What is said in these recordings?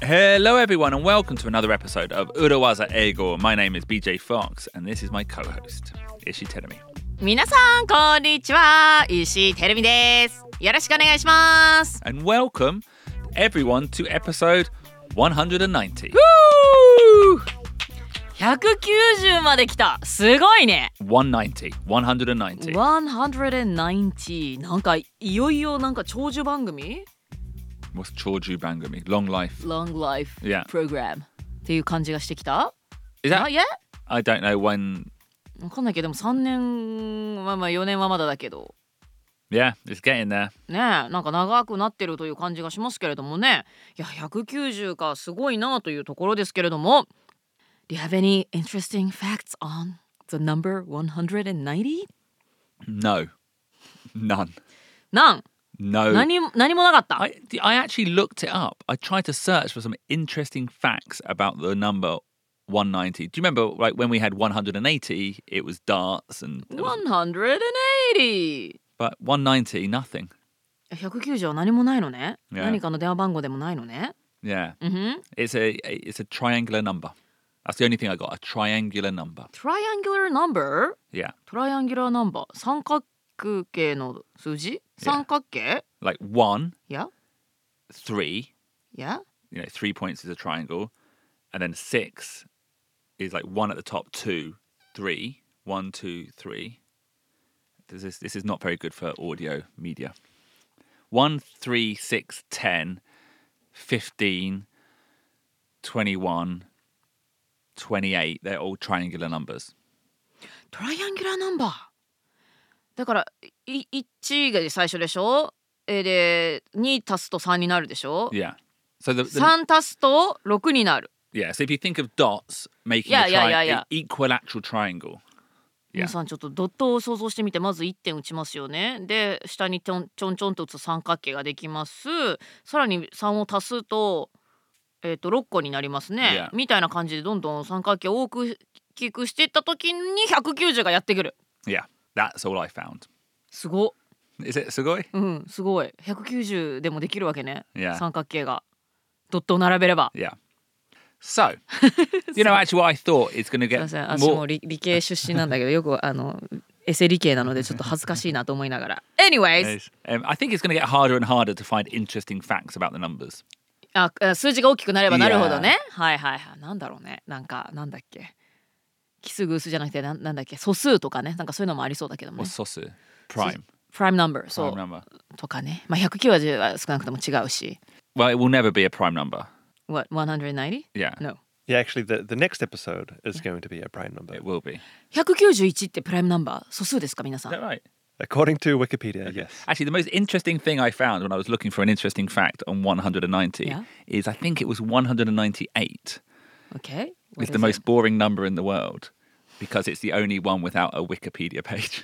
Hello everyone and welcome to another episode of Urawaza Eigo. My name is BJ Fox and this is my co-host, Ishii Terumi. 皆さんこんにちは、石井てるみです。よろしくお願いします。 And welcome everyone to episode 190. 190まで来た。すごいね。 190. 190。なんかいよいよなんか長寿番組 What's Choju Bangami? Long life. Long life Yeah. program っていう感じがしてきた。 Is that? Not yet? I don't know when. わかんないけど、でも3年まあ4年はまだだけど Yeah, it's getting there. ねえ、なんか長くなってるという感じがしますけれどもね。いや190か、すごいなというところですけれども。 Do you have any interesting facts on the number 190? No. None. None. No. 何もなかった。 I actually looked it up. I tried to search for some interesting facts about the number 190. Do you remember like when we had 180, it was darts and 180. but 190 nothing. 190は何もないのね。 Yeah. 何かの電話番号でもないのね。 Yeah. Mm-hmm. It's a triangular number. That's the only thing I got, a triangular number. Triangular number? Yeah. トライアンギュラーナンバー。三角形の数字？ 三角形？ Like 1, Yeah. 3, Yeah. 3 points is a triangle, and then 6 is like 1 at the top, 2, 3, 1, 2, 3. This is not very good for audio media. 1, 3, 6, 10, 15, 21, 28. They're all triangular numbers. トライアンギュラーナンバー。だから1が最初でしょ。で2足すと3になるでしょ。 Yeah. So the 3足すと6になる。 yeah. So if you think of dots making Yeah. equilateral triangle. 皆さんちょっとドットを想像してみて、まず1点打ちますよね。で下にちょんちょんと打つ三角形ができます。さらに3を足すと6個になりますね。 Yeah. みたいな感じでどんどん三角形を大きくしていった時に190がやってくる。 Yeah. That's all I found. すご。 Is it sugoi? うんすごい。190でもできるわけね。 Yeah. 三角形がドットを並べれば。 Yeah. So, actually what I thought is going to すい get ません、私も more... 理系出身なんだけどよくエセ理系なのでちょっと恥ずかしいなと思いながら。Anyways、 I think it's going to get harder and harder to find interesting facts about the numbers. 数字が大きくなればなるほどね。 Yeah. はいはいはい。なんだろうね。なんだっけ。奇数偶数じゃなくてなんだっけ。素数とかね。なんかそういうのもありそうだけどもね。 What's sosu? Prime. Prime number。そう。 Prime number. とかね。まあ190は少なくとも違うし。 Well, it will never be a prime number. What, 190? Yeah. No. Yeah, actually, the next episode is going to be a prime number. It will be. 191ってプライムナンバー。素数ですか皆さ Is that ん。 right? According to Wikipedia, yes. Actually, the most interesting thing I found when I was looking for an interesting fact on 190 Yeah. is I think it was 198. Okay. It's the most boring number in the world because it's the only one without a Wikipedia page.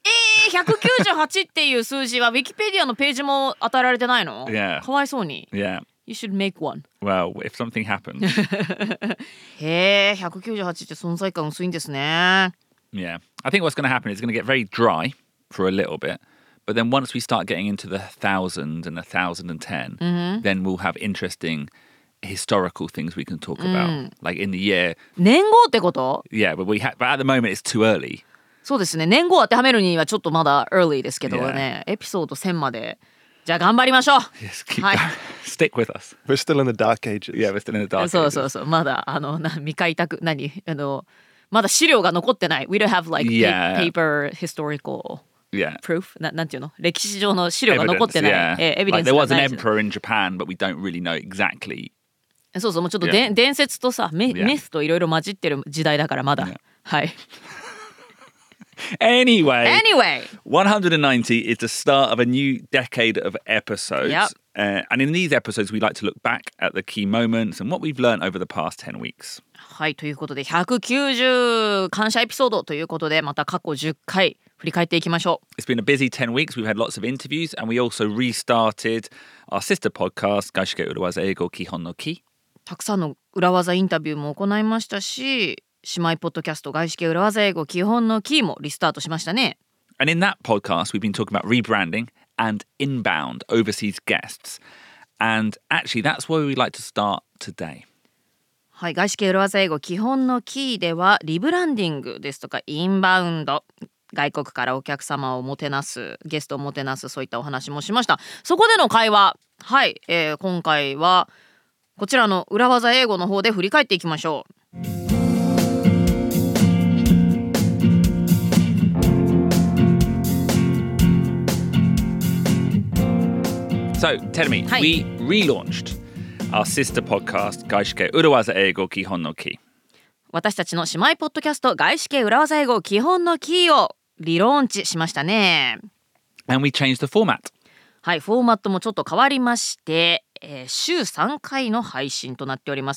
198っていう数字は Wikipedia のページも与えられてないの？ Yeah. かわいそうに。 Yeah. You should make one. Well, if something happens, へえ、198って存在感薄いんですね。 yeah. I think what's going to happen is it's going to get very dry for a little bit. But then once we start getting into the 1,000 and 1,010, then we'll have interesting historical things we can talk about. Like in the year, 年号ってこと？ yeah, but at the moment it's too early. そうですね。年号当てはめるにはちょっとまだ early ですけどね。エピソード1000まで。じゃあ頑張りましょう。 Just keep Hi. going. Stick with us. We're still in the dark ages. Yeah, we're still in the dark そう ages. そうそう。まだ未開拓まだ資料が残ってない。We don't have like Yeah. paper historical Yeah. proof なんていうの？歴史上の資料が残ってない。 yeah. エビデン Like ス there が was な an いです。 emperor in Japan, but we don't really know exactly. そうそう、もうちょっと Yeah. 伝説とさ、ミ Yeah. スといろいろ混じってる時代だからまだ。 Yeah. はい。 Anyway, Anyway. 190 is the start of a new decade of episodes. Yep. And in these episodes, we like to look back at the key moments and what we've learned over the past 10 weeks. はい、ということで190感謝エピソードということでまた過去10回振り返っていきましょう。 It's been a busy 10 weeks. We've had lots of interviews and we also restarted our sister podcast, Gaishike Urawaza Eigo Kihon no Ki. たくさんの裏技インタビューも行いましたし、姉妹ポッドキャスト外資系裏技英語基本のキーもリスタートしましたね。 And in that podcast, we've been talking about rebranding and inbound overseas guests. And actually, that's where we like to start today? はい、外資系裏技英語基本のキーではリブランディングですとかインバウンド、外国からお客様をもてなす、ゲストをもてなす、そういったお話もしました。そこでの会話、はい、今回はこちらの裏技英語の方で振り返っていきましょう。 So, tell me, we relaunched our sister podcast, 外資系裏技英語基本のキー。 私たちの姉妹ポッドキャスト、外資系裏技英語基本のキーをリローンチしましたね。 And we changed the format. はい、フォーマットもちょっと変わりまして、週3回の配信となっております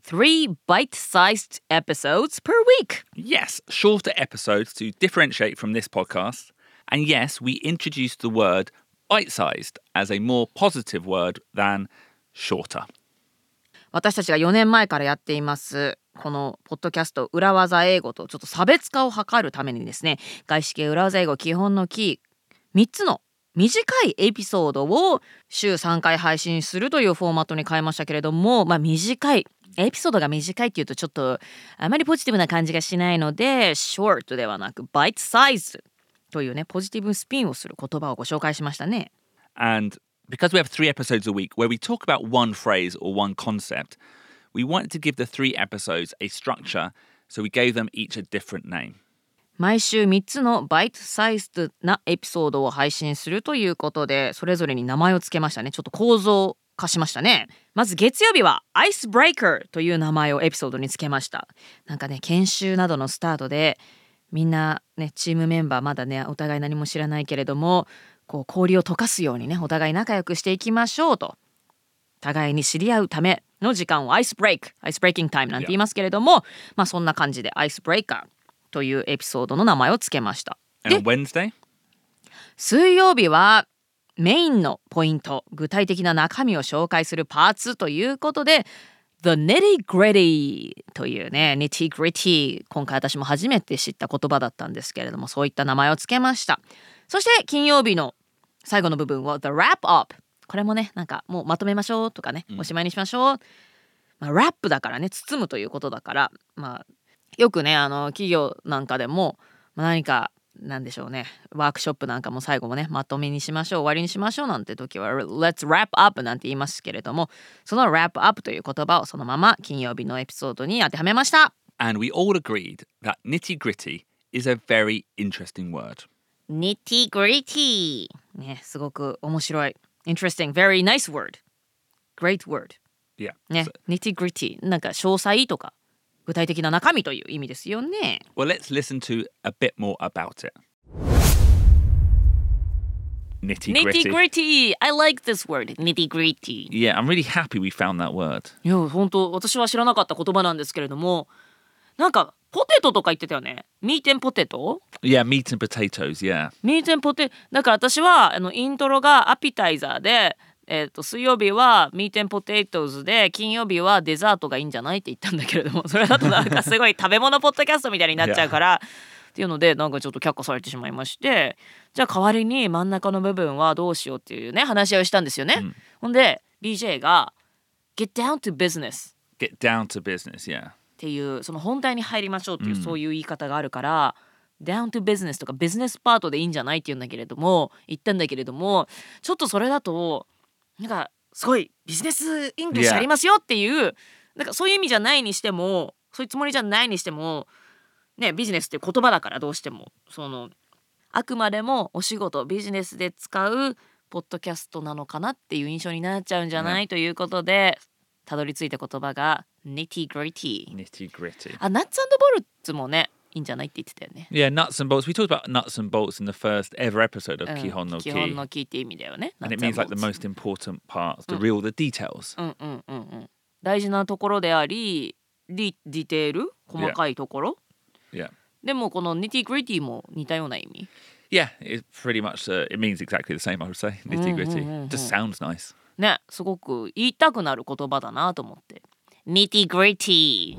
。3 bite-sized episodes per week. Yes, shorter episodes to differentiate from this podcast. And yes, we introduced the word bite-sized as a more positive word than shorter. 私たちが4年前からやっていますこのポッドキャスト裏技英語とちょっと差別化を図るためにですね、外資系裏技英語基本のキー3つの短いエピソードを週3回配信するというフォーマットに変えましたけれども、短いエピソードが短いっていうとちょっとあまりポジティブな感じがしないので short ではなく bite size というねポジティブスピンをする言葉をご紹介しましたね。 And because we have 3 episodes a week where we talk about one phrase or one concept, we wanted to give the 3 episodes a structure, so we gave them each a different name. 毎週3つのバイトサイズなエピソードを配信するということでそれぞれに名前をつけましたね。ちょっと構造化しましたね。まず月曜日はアイスブレイカーという名前をエピソードにつけました。なんかね研修などのスタートでみんなねチームメンバーまだねお互い何も知らないけれどもこう氷を溶かすようにねお互い仲良くしていきましょうと互いに知り合うための時間をアイスブレイキングタイムなんて言いますけれども、そんな感じでアイスブレイカーというエピソードの名前をつけました。 And on Wednesday? 水曜日はメインのポイント、具体的な中身を紹介するパーツということで The Nitty Gritty というね Nitty Gritty 今回私も初めて知った言葉だったんですけれどもそういった名前をつけました。そして金曜日の最後の部分は The Wrap Up、 これもねなんかもうまとめましょうとかね、おしまいにしましょう、ラップだからね包むということだからよくね企業なんかでも何かなんでしょうねワークショップなんかも最後もねまとめにしましょう終わりにしましょうなんて時は Let's wrap up なんて言いますけれどもその wrap up という言葉をそのまま金曜日のエピソードに当てはめました。 And we all agreed that nitty-gritty is a very interesting word. Nitty gritty ねすごく面白い Interesting, very nice word Great word Yeah. ね Nitty gritty なんか詳細とか具体的な中身という意味ですよね。 Well, let's listen to a bit more about it. Nitty-gritty. Nitty gritty I like this word Nitty gritty Yeah, I'm really happy we found that word. いや本当私は知らなかった言葉なんですけれどもなんかポテトとか言ってたよね。ミーテンポテト Yeah, meat and potatoes, yeah. ミーテンポテだから私はイントロがアピタイザーで水曜日はミーテンポテトーズで金曜日はデザートがいいんじゃないって言ったんだけれどもそれだとなんかすごい食べ物ポッドキャストみたいになっちゃうからっていうのでなんかちょっと却下されてしまいましてじゃあ代わりに真ん中の部分はどうしようっていうね話し合いをしたんですよね、ほんで BJ が Get down to business Get down to business, yeah. っていうその本題に入りましょうっていう、そういう言い方があるからdown to business とかビジネスパートでいいんじゃないって言ったんだけれどもちょっとそれだとなんかすごいビジネスイングリッシュありますよっていう、なんかそういう意味じゃないにしてもそういうつもりじゃないにしてもねビジネスっていう言葉だからどうしてもそのあくまでもお仕事ビジネスで使うポッドキャストなのかなっていう印象になっちゃうんじゃない、ということでたどり着いた言葉が Nitty Gritty。 Nitty-gritty. あ、ナッツ&ボルツもねいいんじゃないって言ってたよね。 Yeah, nuts and bolts. We talked about nuts and bolts in the first ever episode of 基 Kihon no 本 Ki. のキーって意味だよね。 And it means like the most important parts, the real, the details. 大事なところでありディテール細かいところ、 Yeah. でもこの Nitty Gritty も似たような意味。 Yeah, it pretty much, it means exactly the same, I would say. Nitty-gritty. Just sounds nice. ね、すごく言いたくなる言葉だなと思って。Nitty Gritty.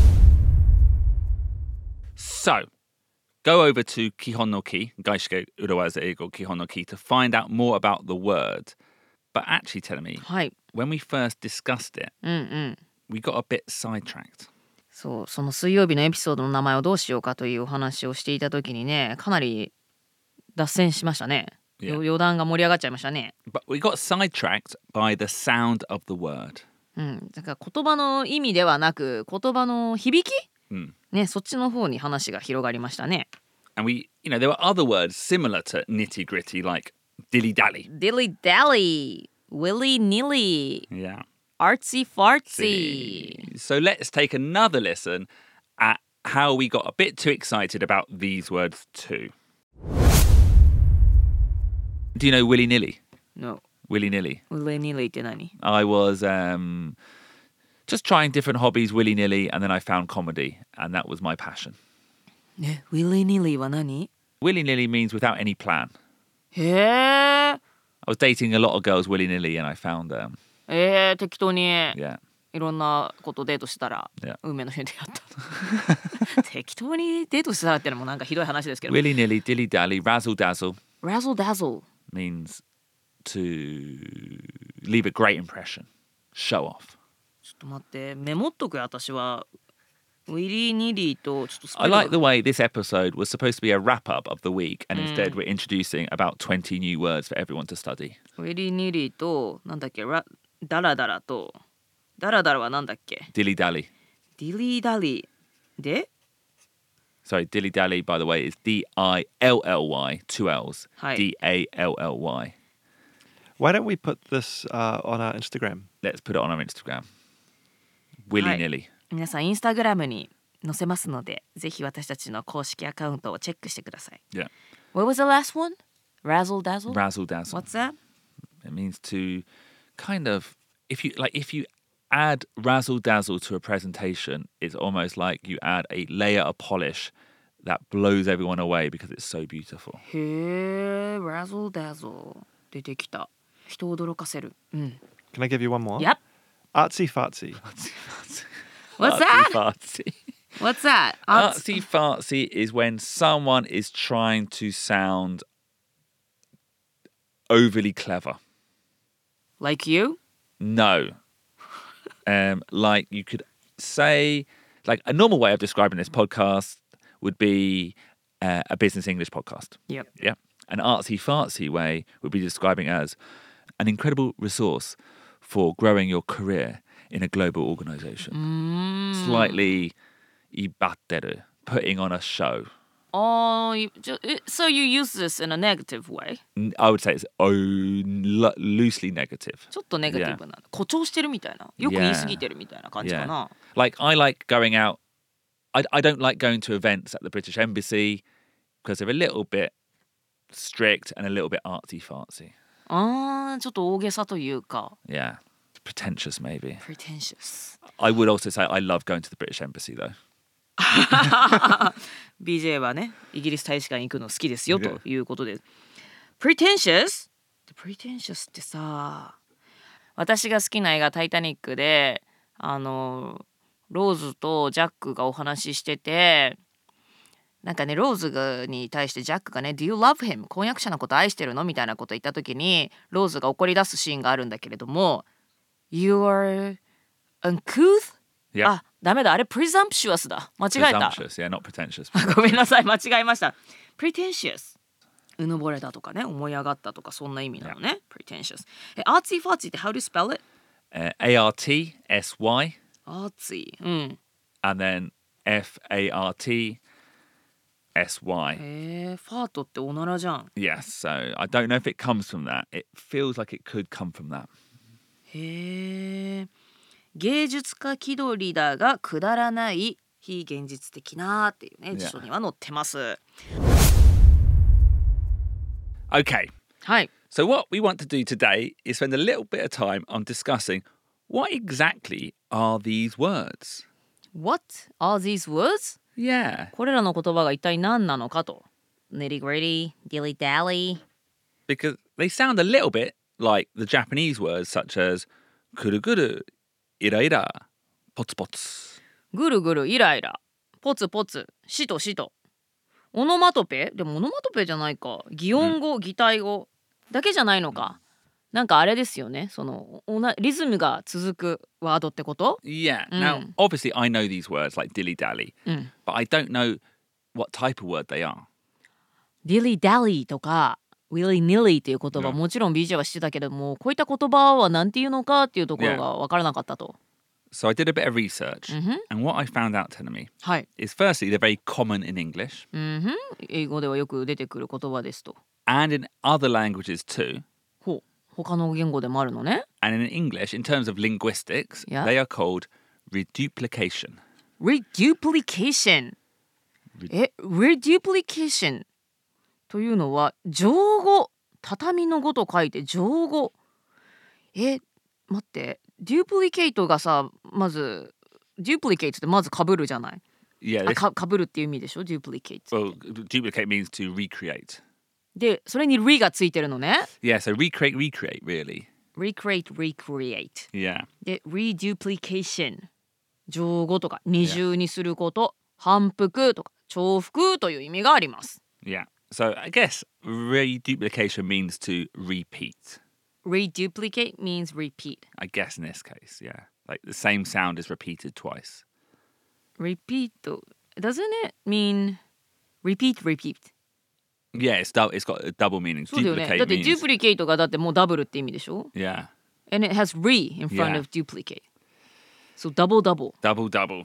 So, go over to Kihon no Ki, Gaishike Urawaza Eigo Kihon no Ki, to find out more about the word. But actually, tell me, はい。 when we first discussed it, we got a bit sidetracked. そうその水曜日のエピソードの名前をどうしようかというお話をしていた時にねかなり脱線しましたね、 Yeah. 余談が盛り上がっちゃいましたね、 But we got sidetracked by the sound of the word. だから言葉の意味ではなく言葉の響き、ね、そっちの方に話が広がりましたね。 And we, there were other words similar to nitty gritty, like dilly dally. Dilly dally, willy nilly, Yeah. artsy fartsy. So let's take another listen at how we got a bit too excited about these words too. Do you know willy nilly? No, Willy nilly. willy nilly って何？ I was just trying different hobbies willy nilly, and then I found comedy, and that was my passion. ね、willy nilly は何？ Willy nilly means without any plan. へえ。 I was dating a lot of girls willy nilly, and I found 適当に yeah. いろんなことデートしたら Yeah. 運命の人に出会った適当にデートしたらってのもなんかひどい話ですけど Willy nilly, dilly dally, razzle dazzle Razzle dazzle means to leave a great impression, show off. ちょっと待ってメモっとくよ私はウィリー・ニリーとちょっとスペ I ルが like the way this episode was supposed to be a wrap up of the week, and instead we're introducing about 20 new words for everyone to study. ウィリー・ニリーとなんだっけダラダラとダラダラはなんだっけ Dilly dally. ディリー・ダリーで Sorry, dilly dally, by the way, is D-I-L-L-Y, two L's. Hi. D-A-L-L-Y. Why don't we put this on our Instagram? Let's put it on our Instagram. Willy nilly. 皆さんインスタグラムに載せますのでぜひ私たちの公式アカウントをチェックしてください。 Yeah. What was the last one? Razzle dazzle? Razzle dazzle. What's that? It means to kind of, if you add razzle dazzle to a presentation, it's almost like you add a layer of polish that blows everyone away because it's so beautiful. へえ、Razzle dazzle 出てきた。人を驚かせる。うん。 Can I give you one more? Yep. Artsy fartsy. What's that? Fartsy. What's that? Artsy fartsy is when someone is trying to sound overly clever. Like you? No. Like you could say, like a normal way of describing this podcast would be a business English podcast. Yep. Yeah. An artsy fartsy way would be describing as an incredible resource for growing your career in a global organization. Slightly ibatteru, putting on a show. Oh, so you use this in a negative way? I would say it's loosely negative. ちょっとネガティブな。誇張してるみたいな。よく言い過ぎてるみたいな感じかな。 Like I like going out. I don't like going to events at the British Embassy because they're a little bit strict and a little bit artsy fartsy. ちょっと大げさというか。 Yeah. Pretentious maybe. Pretentious. I would also say I love going to the British Embassy though. BJ はね、イギリス大使館行くの好きですよということで。Pretentious? Pretentious ってさ、私が好きな映画タイタニックで、ローズとジャックがお話ししてて、なんかね、ローズに対してジャックがね、Do you love him? 婚約者のこと愛してるのみたいなこと言った時に、ローズが怒り出すシーンがあるんだけれども、You are uncouth? Yeah. あ、ダメだ、あれ presumptuous だ。間違えた。 Presumptuous, yeah, not pretentious. ごめんなさい、間違えました。pretentious。うぬぼれたとかね、思い上がったとか、そんな意味なのね。pretentious。artsy fartsy って how do you spell it? A-R-T-S-Y artsy。うん。 and then F-A-R-T-S-Y. ファートっておならじゃん。 Yes, so I don't know if it comes from that. It feels like it could come from that. へえ。芸術家気取りだがくだらない非現実的なっていうね、辞書には載ってます。 Okay, はい。 so what we want to do today is spend a little bit of time on discussing what exactly are these words? What are these words? Yeah, これらの言葉が一体何なのかと。nitty gritty, dilly dally. because they sound a little bit like the Japanese words such as kuruguru, ira-ira, pots-pots. ぐるぐるイライラポツポツしとしとオノマトペでもオノマトペじゃないか擬音語擬態語だけじゃないのかなんかあれですよね。そのリズムが続くワードってこと？ Yeah. Now, obviously, I know these words like dilly dally, but I don't know what type of word they are. dilly dally とか willy nilly っていう言葉、もちろん BJ は知ってたけども、こういった言葉は何て言うのかっていうところが分からなかったと。 So I did a bit of research, and what I found out, Tenemy, はい。 is firstly, they're very common in English 英語ではよく出てくる言葉ですと。 and in other languages too. ほう。他の言語でもあるのね。 And in English, in terms of linguistics, Yeah. they are called reduplication. reduplication。reduplication というのは乗語、畳の語と書いて乗語。待って、duplicate がさ、まず duplicate ってまず被るじゃない。 Yeah, 被るっていう意味でしょ duplicate。 well, duplicate means to recreate. で、それに re がついてるのね。 Yeah, so recreate, really. recreate。 Yeah. で、reduplication。乗語とか二重にすること、反復とか重複という意味があります。 Yeah. So I guess reduplication means to repeat. reduplicate means repeat. I guess in this case, yeah. Like the same sound is repeated twice. repeat doesn't it mean repeat? Yeah, it's got a double meaning. そうだよね。だ Duplicate って means duplicate がだってもうダブルって意味でしょ yeah, And it has re in front Yeah. of duplicate. So double. double.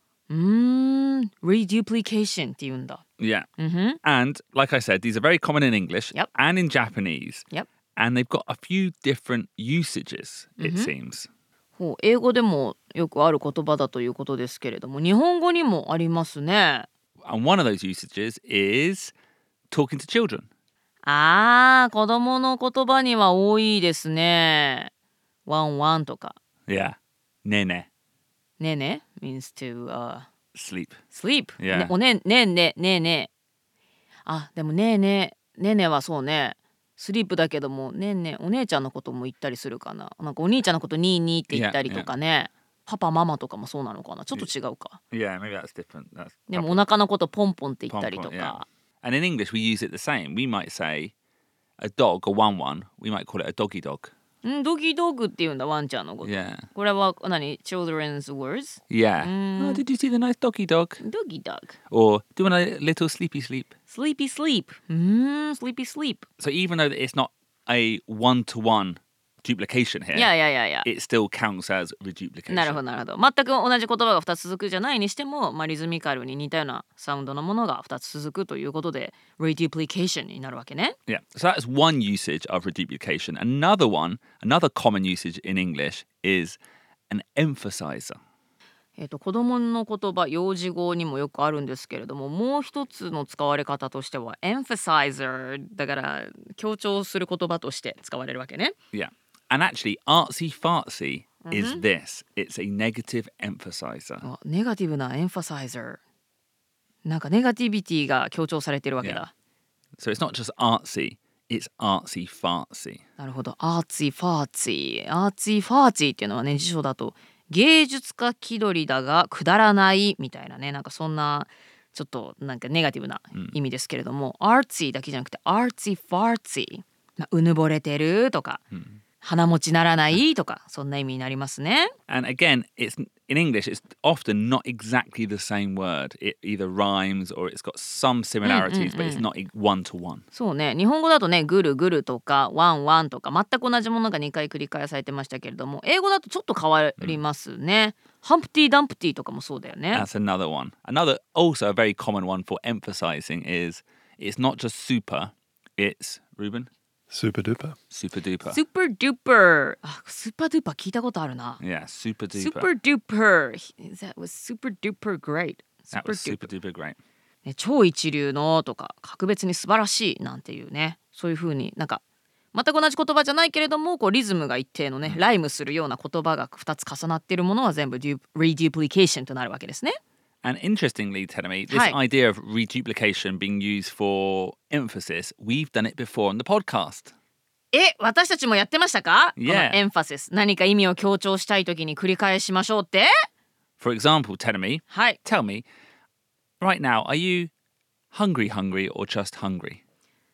reduplication って言うんだ。 Yeah. And like I said, these are very common in English Yep. and in Japanese. Yep. And they've got a few different usages, it seems. ほう、英語でもよくある言葉だということですけれども、日本語にもありますね。 And one of those usages is talking to children. 子供の言葉には多いですね。ワンワンとか。 Yeah. Nene. ねえね means to Sleep. sleep. Yeah. ねえね。でもねえねはそうね。スリープだけどもねえねお姉ちゃんのことも言ったりするかな。なんかお兄ちゃんのことニーニーって言ったりとかね。パパママとかもそうなのかな。ちょっと違うか。 Yeah, maybe that's different. That's でもお腹のことポンポンって言ったりと Pom-pom, yeah. か。 And in English, we use it the same. We might say a dog, a one, we might call it a doggy dog. ドギドグって言うんだワンちゃんのこと。 Yeah. これは何 children's words? Yeah. Oh, did you see the nice doggy dog? ドギドグ。 Or do you want a little sleepy sleep? sleepy sleep. sleepy sleep. So even though it's not a one-to-one duplication here, いや。 it still counts as reduplication. なるほど。全く同じ言葉が2つ続くじゃないにしても、リズミカルに似たようなサウンドのものが2つ続くということで reduplication になるわけね。 Yeah. So that's one usage of reduplication. Another common usage in English is an emphasizer. 子供の言葉幼児語にもよくあるんですけれども、もう一つの使われ方としては emphasizer だから強調する言葉として使われるわけね。 Yeah. And actually, artsy fartsy is this. It's a negative emphasizer. ネガティブな emphasizer。なんかネガティビティが強調されてるわけだ。 So it's not just artsy, it's artsy fartsy. なるほど。アーツィファーツィ。アーツィファーツィっていうのはね、辞書だと芸術家気取りだがくだらないみたいなね、なんかそんなちょっとなんかネガティブな意味ですけれども、アーツィだけじゃなくてアーツィファーツィ。うぬぼれてるとか、鼻持ちならないとか、そんな意味になりますね。 And again, it's in English, it's often not exactly the same word. It either rhymes or it's got some similarities, but it's not one-to-one. そうね、日本語だとね、ぐるぐるとかワンワンとか全く同じものが2回繰り返されてましたけれども、英語だとちょっと変わりますね。ハンプティ・ダンプティとかもそうだよね。 That's another one. Another, also a very common one for emphasizing is it's not just super, it's, Ruben? Super duper. Super duper. スーパードゥーパー。スーパードゥーパー聞いたことあるな。 Yeah, super duper. スーパードゥーパー。That was super duper great. That was super duper great. ね、超一流のとか格別に素晴らしいなんていうね、そういう風になんか全く同じ言葉じゃないけれどもこうリズムが一定のね、ライムするような言葉が2つ重なっているものは全部reduplication となるわけですね。 And interestingly, Tenemy, this はい。 idea of reduplication being used for emphasis, we've done it before on the podcast. 私たちもやってましたか？ Yeah. このエンファシス、何か意味を強調したいときに繰り返しましょうって？ For example, Tenemy, はい。 tell me, right now, are you hungry or just hungry?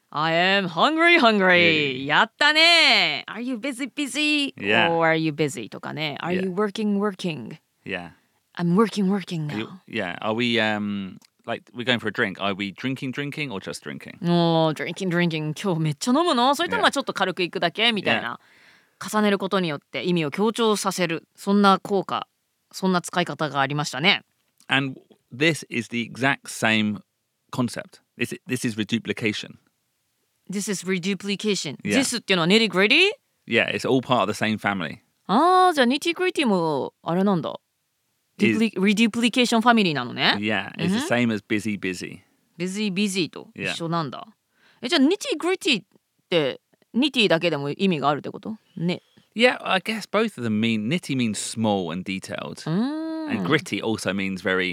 I am hungry. やったね。Are you busy? Yeah. Or are you busy? とかね。Are Yeah. you working? Yeah. I'm working Are you- now. yeah. Are we like we're going for a drink? Are we drinking or just drinking? もう drinking 今日めっちゃ飲むの？それともまあちょっと軽くいくだけみたいな。重ねることによって意味を強調させる。そんな効果、そんな使い方がありましたね。 And this is the exact same concept. This is reduplication. This is reduplication. Yeah. This っていうのは nitty gritty? Yeah, it's all part of the same family. ああ、じゃあ nitty gritty もあれなんだ。reduplication ファミリーなのね。 Yeah, it's the same as busy. busy と Yeah. 一緒なんだ。じゃあ nitty gritty ってnitty だけでも意味があるってことね。 Yeah, I guess both of them mean nitty means small and detailed, and gritty also means very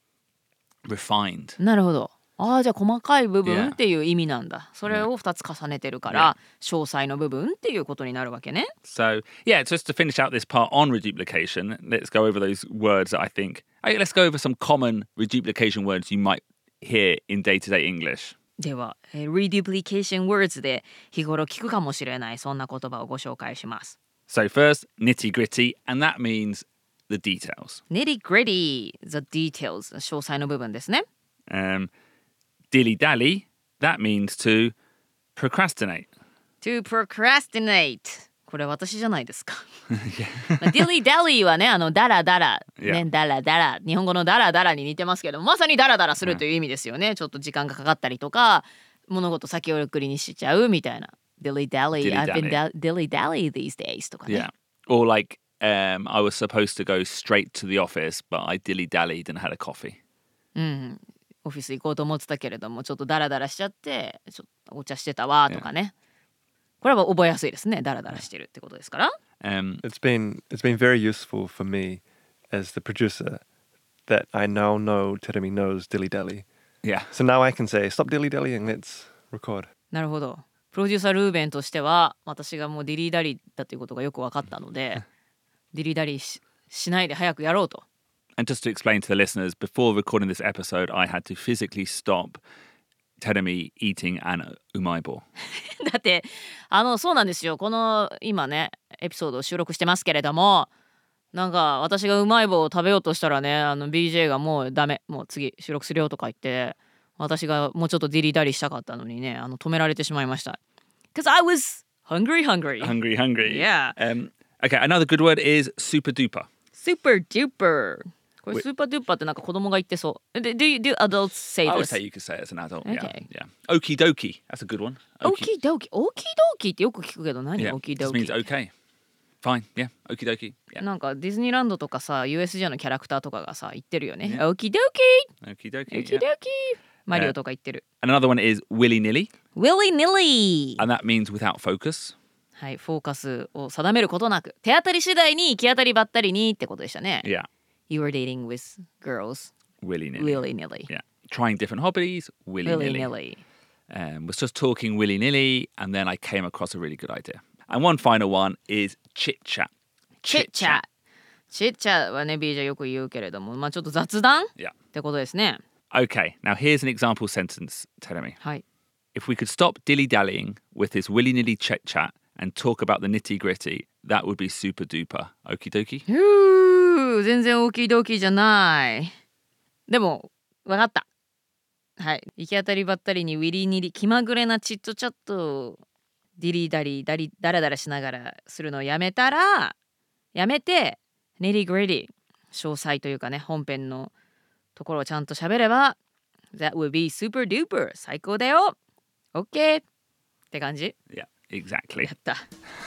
refined. なるほど。ああ、じゃあ細かい部分 Yeah. っていう意味なんだ。それを2つ重ねてるから、詳細の部分っていうことになるわけね。 So, yeah, just to finish out this part on reduplication, let's go over those words that I think. Let's go over some common reduplication words you might hear in day-to-day English. では、reduplication words で日頃聞くかもしれないそんな言葉をご紹介します。 So first, nitty-gritty, and that means the details. nitty gritty, the details 詳細の部分ですね。 Dilly-dally, that means to procrastinate. to procrastinate これ私じゃないですか。dilly dally はね、ダラダラ、ね、ダラダラ、日本語のダラダラに似てますけど、まさにダラダラするという意味ですよね。ちょっと時間がかかったりとか、物事先送りにしちゃうみたいな。dilly dally, I've been dilly dally these days とかね。 Yeah. Or like, I was supposed to go straight to the office, but I dilly-dallied and had a coffee. オフィス行こうと思ってたけれども、ちょっとダラダラしちゃって、ちょっとお茶してたわとかね。これは覚えやすいですね。ダラダラしてるってことですから。 It's been very useful for me as the producer that I now know Terumi knows dilly dally. Yeah. So now I can say stop dilly dallying, let's record. なるほど。プロデューサールーベンとしては、私がもうディリーダリーだということがよく分かったので、ディリーダリーしないで早くやろうと。 And just to explain to the listeners, before recording this episode, I had to physically stop Terumi eating an umaibo. だってそうなんですよ。この今ねエピソードを収録してますけれども、なんか私がうまい棒を食べようとしたらね、BJ がもうダメ、もう次収録するよとか言って、私がもうちょっとディリダリしたかったのにね、止められてしまいました。Because I was hungry. Hungry. Yeah. Okay, another good word is super duper. Super duper. これスーパードゥーパーってなんか子供が言ってそう。Do adults say I would this? say you could say it as an adult. Okay. Yeah. Okie dokie. That's a good one. Okie dokie. Okie dokieってよく聞くけど何 Yeah. Okie Just means dokie? okay. Fine. Yeah. Okie dokie. Yeah. なんかディズニーランドとかさ USJ のキャラクターとかがさ言ってるよね。 Yeah. Okie dokie. Okie dokie. Okie Yeah. dokie. マリオとか言ってる。 And another one is willy nilly, Willy nilly. and that means without focus. はい、フォーカスを定めることなく、手当たり次第に行き当たりばったりにってことでしたね。 Yeah. You were dating with girls. Willy nilly. Willy nilly. Yeah. Trying different hobbies. Willy Willy nilly. nilly. Was just talking willy nilly, and then I came across a really good idea. And one final one is chit chat. Chit chat. Chit chat はね、BJ よく言うけれども、まあちょっと雑談 Yeah. ってことですね。 Okay. Now here's an example sentence. Tell me. はい。 If we could stop dilly dallying with this willy nilly chit chat and talk about the nitty gritty, that would be super duper. Okie dokie. 全然大きい動機じゃない。でも、わかった。はい。行き当たりばったりにウィリーニリ、気まぐれなチットチャット、ディリーダリー、ダラダラしながらするのをやめて、ネリーグレディ、詳細というかね、本編のところをちゃんと喋れば、That would be super duper. 最高だよ。OK! って感じ Yeah, exactly. やった。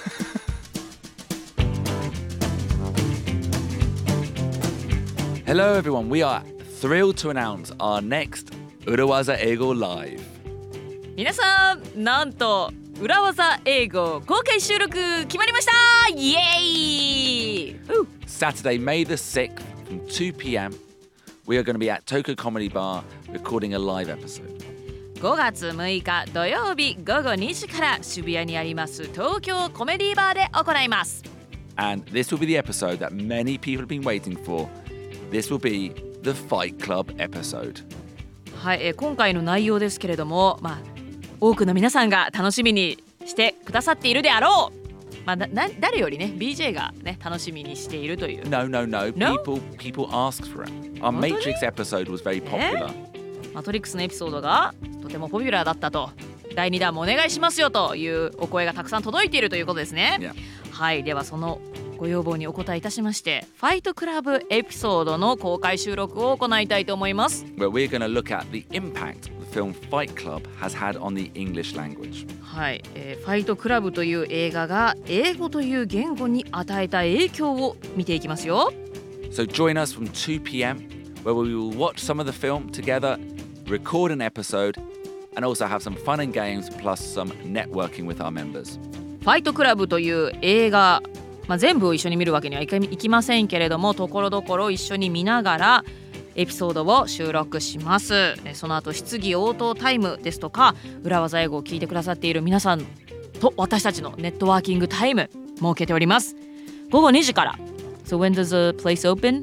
Hello, everyone. We are thrilled to announce our next Urawaza Eigo Live. 皆さん、なんと裏技英語公開収録決まりました。イエーイ Saturday, May the 6th from 2 p.m. We are going to be at Toko Comedy Bar recording a live episode. 5月6日土曜日午後2時から渋谷にあります東京コメディバーで行います。 And this will be the episode that many people have been waiting for. This will be the Fight Club episode. はい、今回の内容ですけれども、 多くの皆さんが楽しみにしてくださっているであろう。まあ、誰よりね BJ がね楽しみにしているという。 No. No? People asked for it. Our Matrix episode was very popular. マトリックスのエピソードがとてもポピュラーだったと、第2弾もお願いしますよというお声がたくさん届いているということですね。 Yeah. はい、ではそのご要望にお答えいたしまして、ファイトクラブエピソードの公開収録を行いたいと思います。 Where we're going to look at the impact the film Fight Club has had on the English language. はい、ファイトクラブという映画が英語という言語に与えた影響を見ていきますよ。 So join us from 2 p.m. where we will watch some of the film together, record an episode, and also have some fun and games plus some networking with our members. ファイトクラブという映画、全部を一緒に見るわけにはいきませんけれども、ところどころ一緒に見ながらエピソードを収録します。その後質疑応答タイムですとか、裏技英語を聞いてくださっている皆さんと私たちのネットワーキングタイム設けております。午後2時から。 So when does the place open?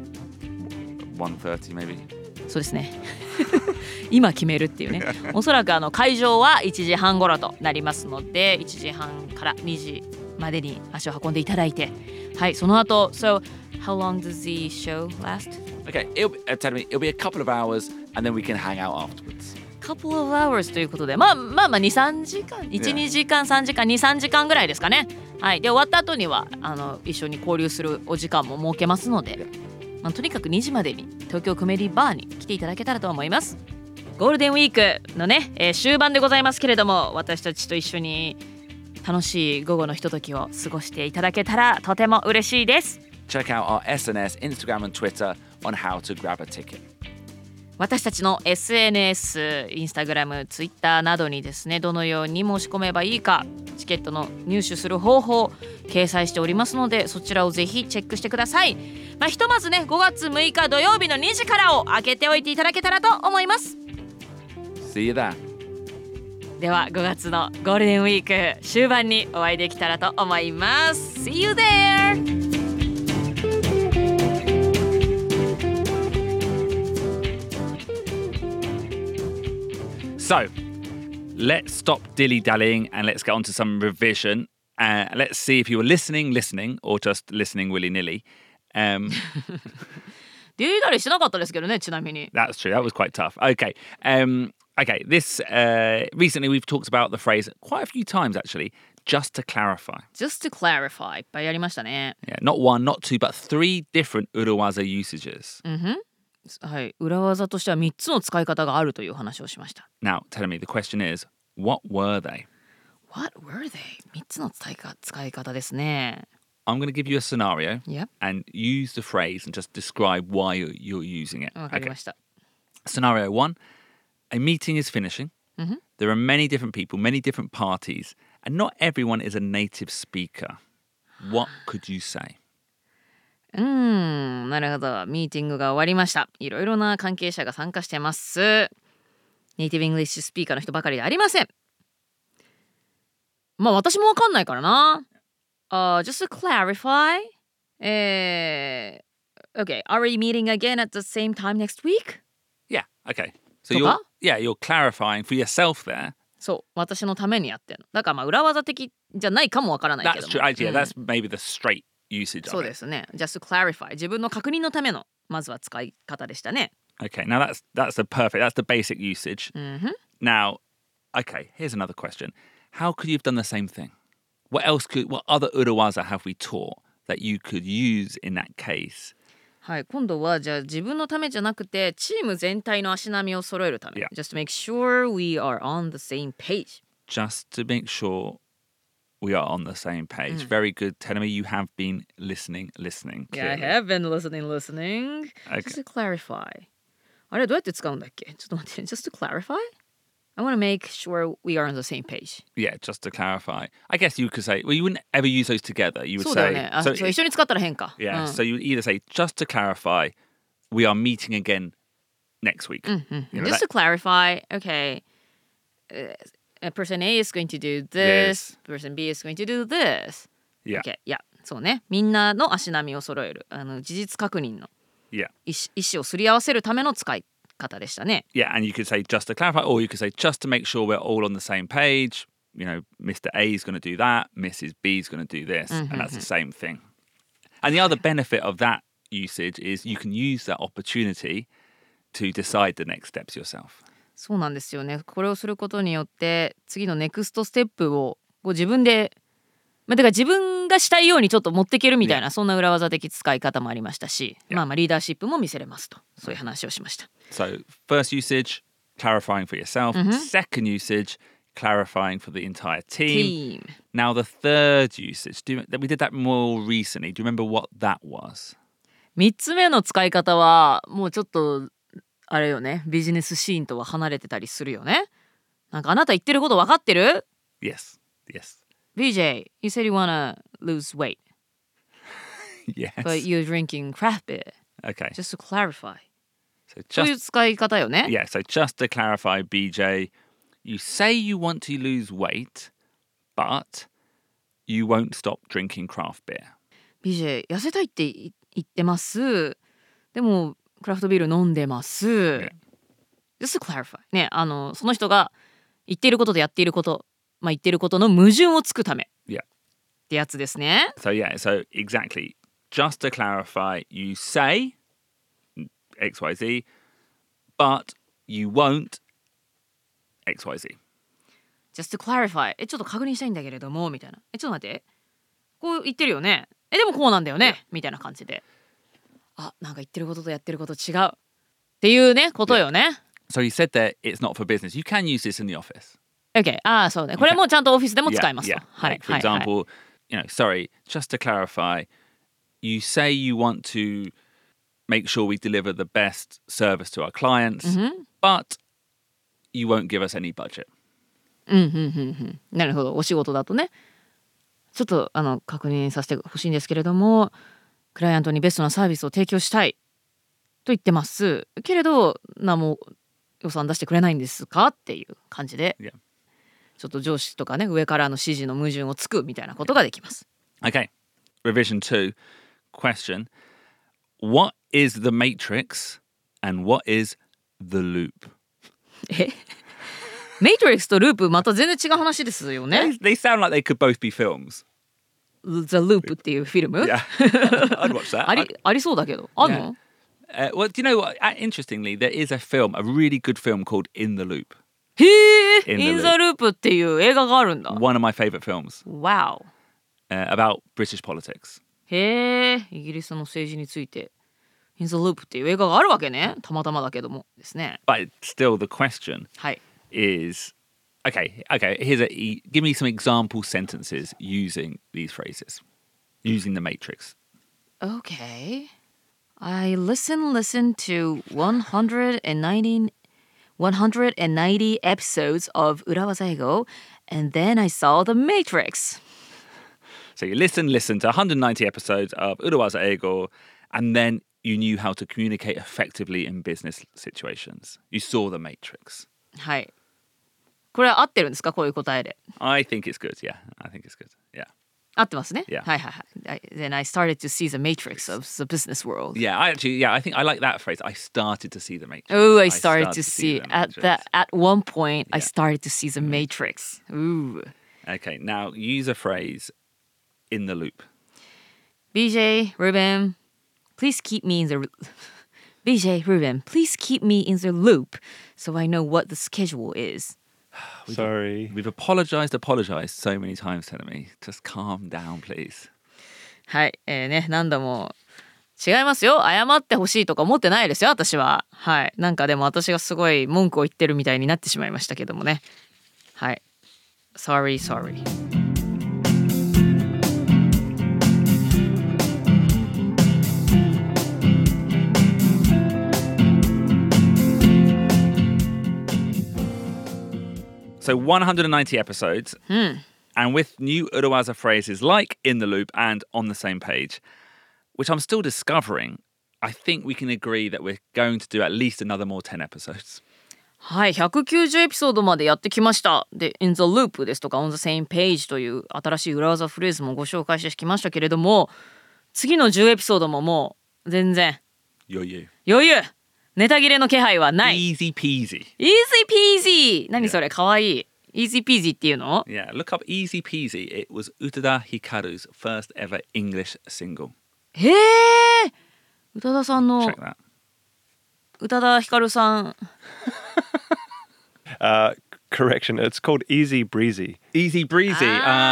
1:30 maybe. そうですね今決めるっていうね。おそらく会場は1時半頃となりますので、1時半から2時までに足を運んでいただいて、はい、その後 So how long does the show last? Okay, it'll be a couple of hours and then we can hang out afterwards. Couple of hours ということで、2,3 時間 1,2 時間3時間 2,3 時間ぐらいですかね。はい、で終わった後には一緒に交流するお時間も設けますので、とにかく2時までに東京コメディバーに来ていただけたらと思います。ゴールデンウィークのね、終盤でございますけれども、私たちと一緒に楽しい午後のひとときを過ごしていただけたらとても嬉しいです。 Check out our SNS, Instagram and Twitter on how to grab a ticket. 私たちの SNS、インスタグラム、ツイッターなどにですね、どのように申し込めばいいか、チケットの入手する方法掲載しておりますので、そちらをぜひチェックしてください。ひとまずね、5月6日土曜日の2時からを開けておいていただけたらと思います。 See you there. では5月のゴールデンウィーク終盤にお会いできたらと思います。 See you there! So, let's stop dilly-dallying and let's get on to some revision. Let's see if you were listening, or just listening willy-nilly. ディリダリしなかったですけどね、ちなみに。 That's true. That was quite tough. Okay. Okay. This recently we've talked about the phrase quite a few times actually. Just to clarify. Just to clarify いっぱいやりましたね。 Yeah, not one, not two, but 3 different urawaza usages. はい、裏技としては3つの使い方があるという話をしました。 Now, tell me, the question is, what were they? What were they? 3つの使い方ですね。 I'm going to give you a scenario Yep. and use the phrase and just describe why you're using it. わかりました。 Scenario 1, a meeting is finishing. There are many different people, many different parties, and not everyone is a native speaker. What could you say? なるほど。ミーティングが終わりました。いろいろな関係者が参加してます。ネイティブ・イングリッシュスピーカーの人ばかりでありません。私もわかんないからな。Just to clarify, okay, are we meeting again at the same time next week? Yeah, okay. So とか？ you're clarifying for yourself there. そう、私のためにやってんの。だから裏技的じゃないかもわからないけど That's も。 true. Yeah, that's maybe the straight usage そう of で it. すね。Just to clarify. 自分の確認のためのまずは使い方でしたね。 Okay, now that's the basic usage. Now, okay, here's another question. How could you have done the same thing? What other urawaza have we taught that you could use in that case? はい、今度はじゃあ自分のためじゃなくてチーム全体の足並みを揃えるため。 Yeah. Just to make sure we are on the same page. Just to make sure we are on the same page. Very good. Tell me you have been listening. Yeah, I clearly. have been listening. Okay. Just to clarify. あれどうやって使うんだっけ？ちょっと待って。Just to clarify? I want to make sure we are on the same page. Yeah, just to clarify. I guess you could say, well, you wouldn't ever use those together. You would そうだよ say, ね。あ、 so そう一緒に使ったら変か。 yeah, so you would either say, just to clarify, we are meeting again next week. You know, Just to clarify, okay, person A is going to do this, person B is going to do this. Yeah. Okay, yeah. そうね。みんなの足並みを揃える。事実確認の Yeah. 意思をすり合わせるための使い方でしたね。 Yeah, and you could say just to clarify, or you could say just to make sure we're all on the same page. You know, Mr. A is going to do that, Mrs. B is going to do this, and that's the same thing. And the other benefit of that usage is you can use that opportunity to decide the next steps yourself. そうなんですよね。これをすることによって次のネクストステップをこう自分で、だから自分がしたいようにちょっと持っていけるみたいな、そんな裏技的使い方もありましたし、まあリーダーシップも見せれますと、そういう話をしました。 So first usage, clarifying for yourself. Second usage, clarifying for the entire team. Now the third usage, we did that more recently. Do you remember what that was? 3つ目の使い方はもうちょっとあれよね、ビジネスシーンとは離れてたりするよね。なんかあなた言ってること分かってる？ Yes, yes. BJ, you said you wanna lose weight, Yes. but you're drinking craft beer. Okay. Just to clarify. So そういう just 使い方よね。 yeah, so just to clarify, BJ, you say you want to lose weight, but you won't stop drinking craft beer. BJ 痩せたいって言ってます。でもクラフトビール飲んでます。 Yeah. Just to clarify. ね、その人が言っていることとやっていること、言っていることの矛盾をつくため。 Yeah. ってやつですね。 So yeah, so exactly. Just to clarify, you say XYZ, but you won't XYZ. Just to clarify. ちょっと確認したいんだけれどもみたいな。ちょっと待って。こう言ってるよね。でもこうなんだよね。みたいな感じで。なんか言ってることとやってること違うっていうねことよね。 So you said that it's not for business. You can use this in the office. Okay. そうね。これもちゃんとオフィスでも使えますと。 Yeah. はい。 Like, for example, you know, sorry, just to clarify, you say you want to make sure we deliver the best service to our clients, but you won't give us any budget. なるほど。お仕事だとね。ちょっと確認させてほしいんですけれども、クライアントにベストなサービスを提供したいと言ってますけれど、何も予算出してくれないんですかっていう感じで、 Yeah. ちょっと上司とかね、上からの指示の矛盾をつくみたいなことができます。 Okay. Revision 2. Question. What is the matrix and what is the loop? メイトリックスとループまた全然違う話ですよね。 They sound like they could both be films. The Loop っていうフィルム Yeah. I'd watch that. ありそうだけど。あんの？ Well, do you know what? Interestingly, there is a film, a really good film called In the Loop. へえ、 In In the the Loop っていう映画があるんだ。 One of my favorite films Wow. about British politics. へえ、イギリスの政治について In the Loop っていう映画があるわけね。たまたまだけどもですね。 But still, the question はい。 is, okay, give me some example sentences using these phrases, using the matrix. Okay. I listen to 190 episodes of 裏技英語 and then I saw the Matrix. So you listen to 190 episodes of Urawaza Eigo, and then you knew how to communicate effectively in business situations. You saw the matrix. はい。これは合ってるんですか？こういう答えで。 I think it's good, yeah. I think it's good, yeah. 合ってますね。 Yeah. はいはいはい。Then I started to see the matrix of the business world. Yeah, I think I like that phrase. I started to see the matrix. Oh, I started to see the at matrix. one point. I Yeah. started to see the matrix. Ooh. Okay, now use a phrase in the loop. BJ Ruben, please keep me in the BJ Ruben, please keep me in the loop so I know what the schedule is. Sorry. We've apologized so many times, telling me. Just calm down, please. はい、ね、何度も違いますよ。謝ってほしいとか思ってないですよ、私は。はい、なんかでも私がすごい文句を言ってるみたいになってしまいましたけどもね。はい。Sorry. So 190 episodes, and with new Urawaza phrases like in the loop and on the same page, which I'm still discovering, I think we can agree that we're going to do at least another more 10 episodes. はい、190エピソードまでやってきました。で、In the Loop ですとか On the Same Page という新しい裏技フレーズもご紹介してきましたけれども、次の10エピソードももう全然余裕。 余裕ネタ切れの気配はない。 Easy peasy. Easy peasy 何それかわいい。 Easy peasy っていうの？ Yeah, look up Easy Peasy. It was Utada Hikaru's first ever English single. へえ、宇多田さんの Check that. 宇多田ヒカルさん Correction, it's called Easy Breezy. Easy Breezy.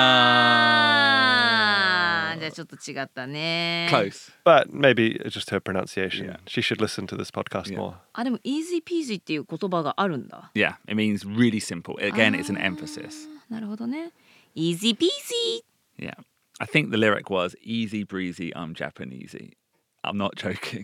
あー、じゃあちょっと違ったね。 Close. But maybe it's just her pronunciation. Yeah. She should listen to this podcast Yeah. more. あ、でも Easy peasy っていう言葉があるんだ。 Yeah, it means really simple. Again, it's an emphasis. なるほどね。Easy peasy. Yeah. I think the lyric was Easy Breezy, I'm Japanesey. I'm not joking.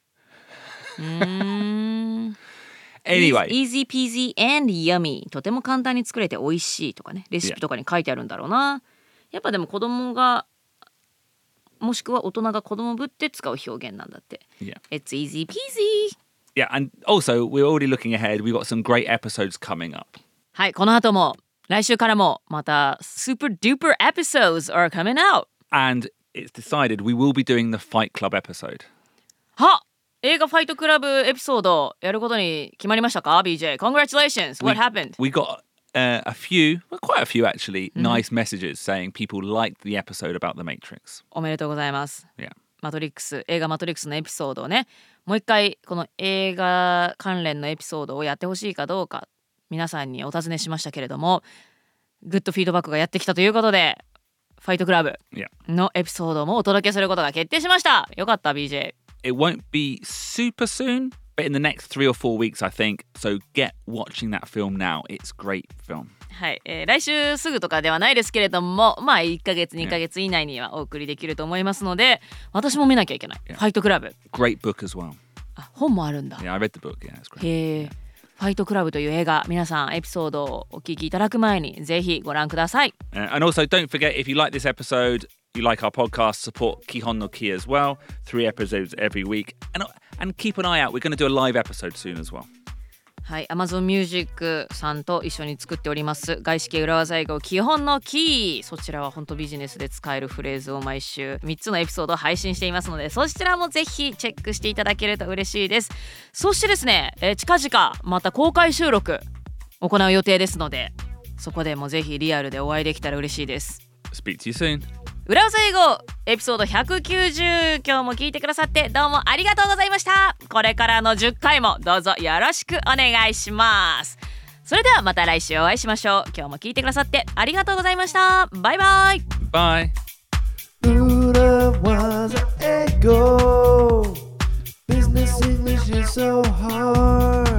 Anyway. Easy peasy and yummy. とても簡単に作れて美味しいとかね。レシピとかに書いてあるんだろうな。やっぱでも子供がもしくは大人が子供ぶって使う表現なんだって。 Yeah. It's easy peasy. Yeah, and also we're already looking ahead. We've got some great episodes coming up. はい、この後も来週からもまた super duper episodes are coming out. And it's decided we will be doing the Fight Club episode. は映画ファイトクラブエピソードやることに決まりましたか BJ? Congratulations. What happened? We got a few, well, quite a few actually, nice messages saying people liked the episode about the Matrix. おめでとうございます。 Yeah. マトリックス、映画マトリックスのエピソードをね、もう一回この映画関連のエピソードをやってほしいかどうか皆さんにお尋ねしましたけれども、グッドフィードバックがやってきたということで、ファイトクラブのエピソードもお届けすることが決定しました。よかった BJ。 It won't be super soon, but in the next 3 or 4 weeks, I think. So get watching that film now. It's a great film. はい、来週すぐとかではないですけれども、まあ1ヶ月2ヶ月以内にはお送りできると思いますので、私も見なきゃいけない。ファイトクラブ。 Great book as well. あ、本もあるんだ。 Yeah, I read the book. Yeah, it's great. へえ。ファイトクラブという映画、皆さんエピソードをお聞きいただく前にぜひご覧ください。 And also, don't forget, if you like this episode, you like our podcast, support Kihon no Ki as well. 3 episodes every week. And keep an eye out. We're going to do a live episode soon as well. はい、Amazon Music さんと一緒に作っております外資系裏技英語基本のキー、そちらは本当ビジネスで使えるフレーズを毎週3つのエピソードを配信していますので、そちらもぜひチェックしていただけると嬉しいです。そしてですね、近々また公開収録行う予定ですので、そこでもぜひリアルでお会いできたら嬉しいです。 Speak to you soon. 裏技英語エピソード190、今日も聞いてくださってどうもありがとうございました。これからの10回もどうぞよろしくお願いします。それではまた来週お会いしましょう。今日も聞いてくださってありがとうございました。バイバイ。 Bye. 裏技英語 Business English is so hard